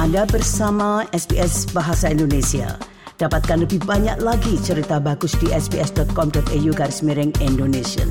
Anda bersama SBS Bahasa Indonesia. Dapatkan lebih banyak lagi cerita bagus di sbs.com.au/Indonesian.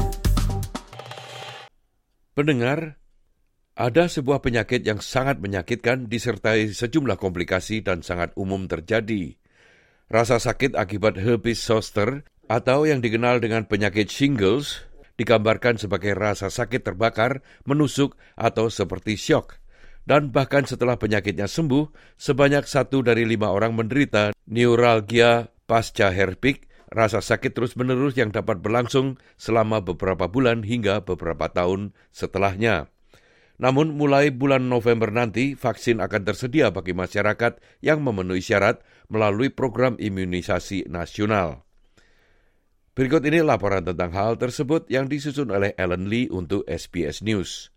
Pendengar, ada sebuah penyakit yang sangat menyakitkan disertai sejumlah komplikasi dan sangat umum terjadi. Rasa sakit akibat herpes zoster atau yang dikenal dengan penyakit shingles digambarkan sebagai rasa sakit terbakar, menusuk, atau seperti syok. Dan bahkan setelah penyakitnya sembuh, sebanyak 1 dari 5 orang menderita neuralgia pasca herpes, rasa sakit terus-menerus yang dapat berlangsung selama beberapa bulan hingga beberapa tahun setelahnya. Namun mulai bulan November nanti, vaksin akan tersedia bagi masyarakat yang memenuhi syarat melalui program imunisasi nasional. Berikut ini laporan tentang hal tersebut yang disusun oleh Ellen Lee untuk SBS News.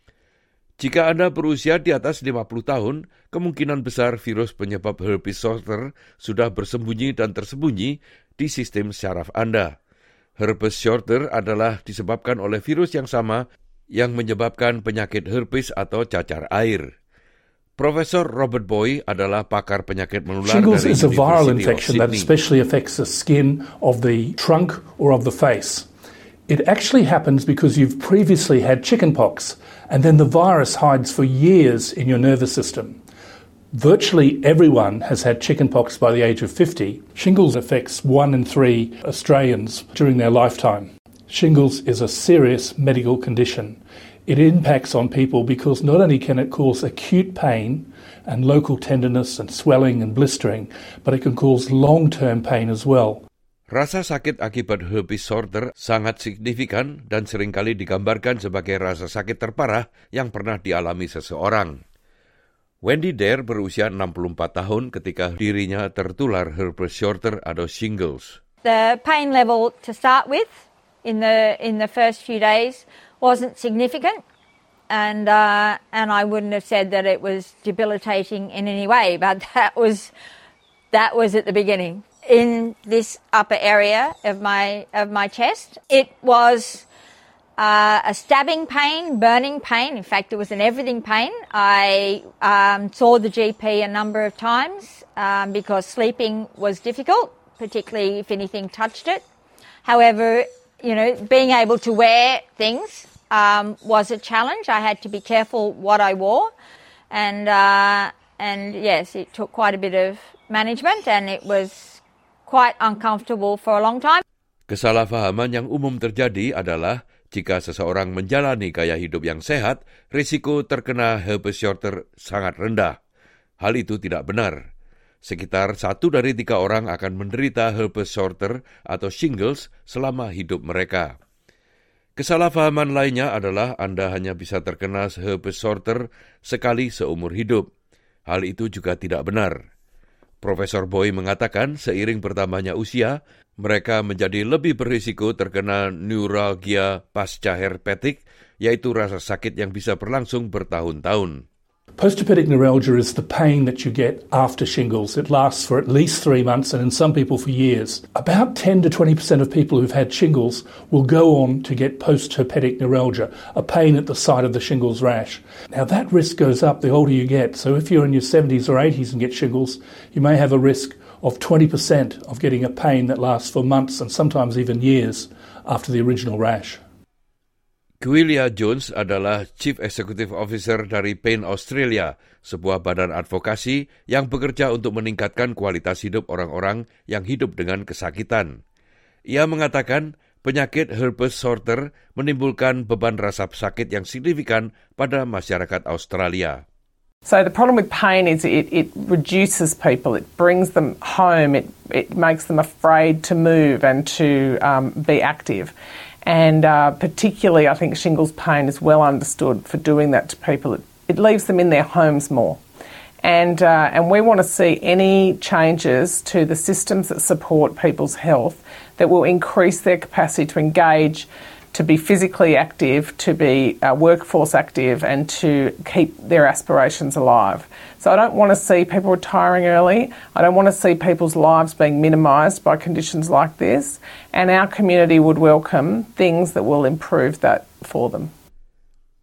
Jika Anda berusia di atas 50 tahun, kemungkinan besar virus penyebab herpes zoster sudah bersembunyi dan tersembunyi di sistem syaraf Anda. Herpes zoster adalah disebabkan oleh virus yang sama yang menyebabkan penyakit herpes atau cacar air. Profesor Robert Boy adalah pakar penyakit menular Shingles dari is a viral University infection of that Sydney. especially affects the skin of the trunk or of the face. It actually happens because you've previously had chickenpox, and then the virus hides for years in your nervous system. Virtually everyone has had chickenpox by the age of 50. Shingles affects 1 in 3 Australians during their lifetime. Shingles is a serious medical condition. It impacts on people because not only can it cause acute pain and local tenderness and swelling and blistering, but it can cause long-term pain as well. Rasa sakit akibat herpes zoster sangat signifikan dan seringkali digambarkan sebagai rasa sakit terparah yang pernah dialami seseorang. Wendy Dare berusia 64 tahun ketika dirinya tertular herpes zoster atau shingles. The pain level to start with in the first few days wasn't significant, and I wouldn't have said that it was debilitating in any way, but that was at the beginning. In this upper area of my chest, it was a stabbing pain, burning pain. In fact, it was an everything pain. I saw the GP a number of times because sleeping was difficult, particularly if anything touched it. However, being able to wear things was a challenge. I had to be careful what I wore, and yes, it took quite a bit of management, and it was quite uncomfortable for a long time. Kesalahpahaman yang umum terjadi adalah jika seseorang menjalani gaya hidup yang sehat, risiko terkena herpes zoster sangat rendah. Hal itu tidak benar. Sekitar 1 dari 3 orang akan menderita herpes zoster atau shingles selama hidup mereka. Kesalahpahaman lainnya adalah Anda hanya bisa terkena herpes zoster sekali seumur hidup. Hal itu juga tidak benar. Profesor Boy mengatakan seiring bertambahnya usia, mereka menjadi lebih berisiko terkena neuralgia pasca herpetik, yaitu rasa sakit yang bisa berlangsung bertahun-tahun. Postherpetic neuralgia is the pain that you get after shingles. It lasts for at least 3 months and in some people for years. About 10 to 20% of people who've had shingles will go on to get postherpetic neuralgia, a pain at the site of the shingles rash. Now that risk goes up the older you get. So if you're in your 70s or 80s and get shingles, you may have a risk of 20% of getting a pain that lasts for months and sometimes even years after the original rash. Giulia Jones adalah Chief Executive Officer dari Pain Australia, sebuah badan advokasi yang bekerja untuk meningkatkan kualitas hidup orang-orang yang hidup dengan kesakitan. Ia mengatakan penyakit herpes zoster menimbulkan beban rasa sakit yang signifikan pada masyarakat Australia. So the problem with pain is it reduces people, it brings them home, it makes them afraid to move and to be active. And particularly, I think shingles pain is well understood for doing that to people. It leaves them in their homes more. And we want to see any changes to the systems that support people's health that will increase their capacity to engage, to be physically active, to be workforce active, and to keep their aspirations alive. So I don't want to see people retiring early. I don't want to see people's lives being minimised by conditions like this. And our community would welcome things that will improve that for them.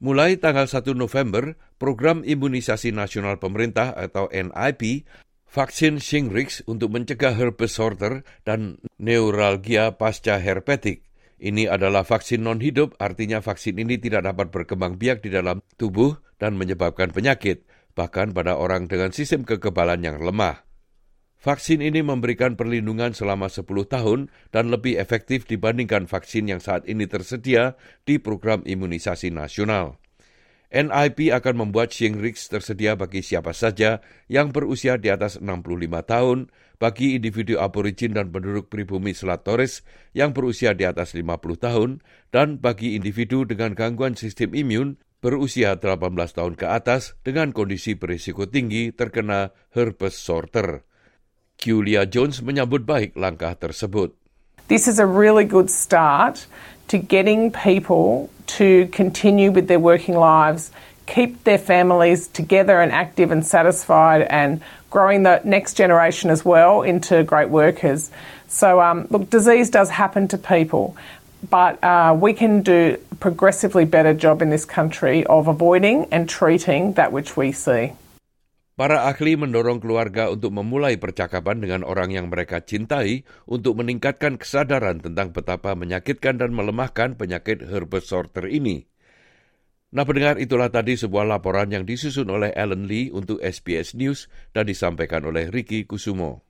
Mulai tanggal 1 November, Program Imunisasi Nasional Pemerintah atau NIP, vaksin Shingrix untuk mencegah herpes zoster dan neuralgia pasca herpetik. Ini adalah vaksin non-hidup, artinya vaksin ini tidak dapat berkembang biak di dalam tubuh dan menyebabkan penyakit, bahkan pada orang dengan sistem kekebalan yang lemah. Vaksin ini memberikan perlindungan selama 10 tahun dan lebih efektif dibandingkan vaksin yang saat ini tersedia di program imunisasi nasional. NIP akan membuat Shingrix tersedia bagi siapa saja yang berusia di atas 65 tahun, bagi individu aborigin dan penduduk pribumi Selat Torres yang berusia di atas 50 tahun, dan bagi individu dengan gangguan sistem imun berusia 18 tahun ke atas dengan kondisi berisiko tinggi terkena herpes zoster. Julia Jones menyambut baik langkah tersebut. This is a really good start to getting people to continue with their working lives, keep their families together and active and satisfied, and growing the next generation as well into great workers. So, look, disease does happen to people, but we can do a progressively better job in this country of avoiding and treating that which we see. Para ahli mendorong keluarga untuk memulai percakapan dengan orang yang mereka cintai untuk meningkatkan kesadaran tentang betapa menyakitkan dan melemahkan penyakit herpes zoster ini. Nah, pendengar, itulah tadi sebuah laporan yang disusun oleh Alan Lee untuk SBS News dan disampaikan oleh Ricky Kusumo.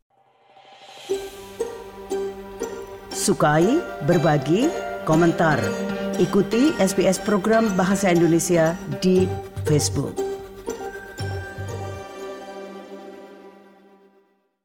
Sukai, berbagi, komentar. Ikuti SBS program Bahasa Indonesia di Facebook.